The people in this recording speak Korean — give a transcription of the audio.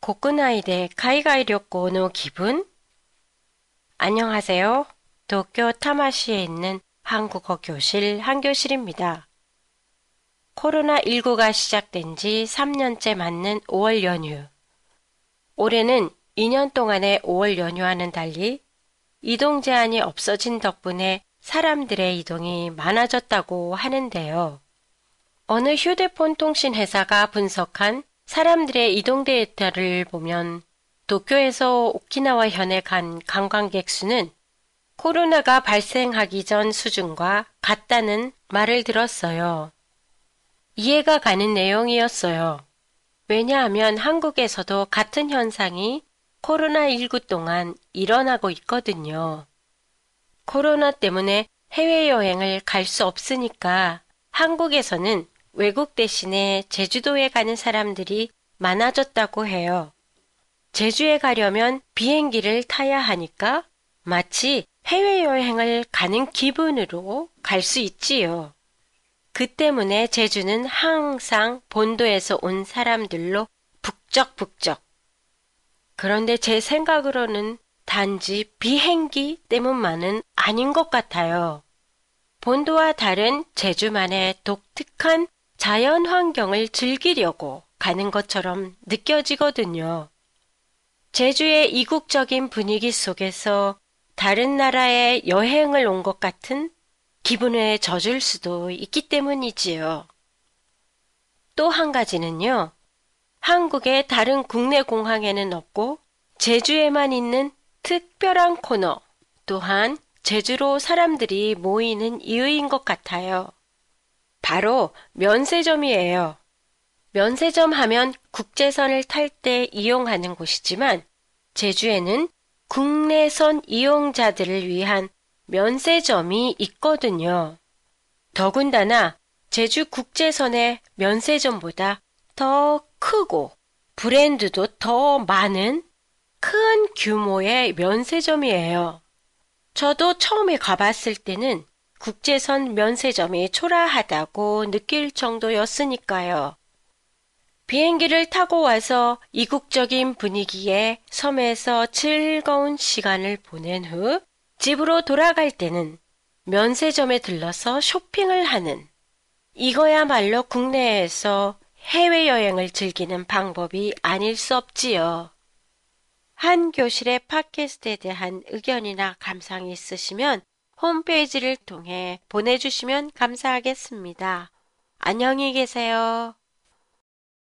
国内で海外旅行の기분? 안녕하세요. 도쿄 타마시에 있는 한국어 교실 한교실입니다. 코로나19가 시작된 지 3년째 맞는 5월 연휴. 올해는 2년 동안의 5월 연휴와는 달리 이동 제한이 없어진 덕분에 사람들의 이동이 많아졌다고 하는데요. 어느 휴대폰 통신 회사가 분석한 사람들의 이동 데이터를 보면 도쿄에서 오키나와 현에 간 관광객 수는 코로나가 발생하기 전 수준과 같다는 말을 들었어요. 이해가 가는 내용이었어요. 왜냐하면 한국에서도 같은 현상이 코로나19 동안 일어나고 있거든요. 코로나 때문에 해외여행을 갈 수 없으니까 한국에서는 외국 대신에 제주도에 가는 사람들이 많아졌다고 해요. 제주에 가려면 비행기를 타야 하니까 마치 해외여행을 가는 기분으로 갈 수 있지요. 그 때문에 제주는 항상 본도에서 온 사람들로 북적북적. 그런데 제 생각으로는 단지 비행기 때문만은 아닌 것 같아요. 본도와 다른 제주만의 독특한 자연 환경을 즐기려고 가는 것처럼 느껴지거든요. 제주의 이국적인 분위기 속에서 다른 나라에 여행을 온 것 같은 기분에 젖을 수도 있기 때문이지요. 또 한 가지는요. 한국의 다른 국내 공항에는 없고 제주에만 있는 특별한 코너, 또한 제주로 사람들이 모이는 이유인 것 같아요. 바로 면세점이에요. 면세점 하면 국제선을 탈 때 이용하는 곳이지만 제주에는 국내선 이용자들을 위한 면세점이 있거든요. 더군다나 제주 국제선의 면세점보다 더 크고 브랜드도 더 많은 큰 규모의 면세점이에요. 저도 처음에 가봤을 때는 국제선 면세점이 초라하다고 느낄 정도였으니까요. 비행기를 타고 와서 이국적인 분위기의 섬에서 즐거운 시간을 보낸 후 집으로 돌아갈 때는 면세점에 들러서 쇼핑을 하는 이거야말로 국내에서 해외여행을 즐기는 방법이 아닐 수 없지요. 한 교실의 팟캐스트에 대한 의견이나 감상이 있으시면 홈페이지를 통해 보내주시면 감사하겠습니다. 안녕히 계세요.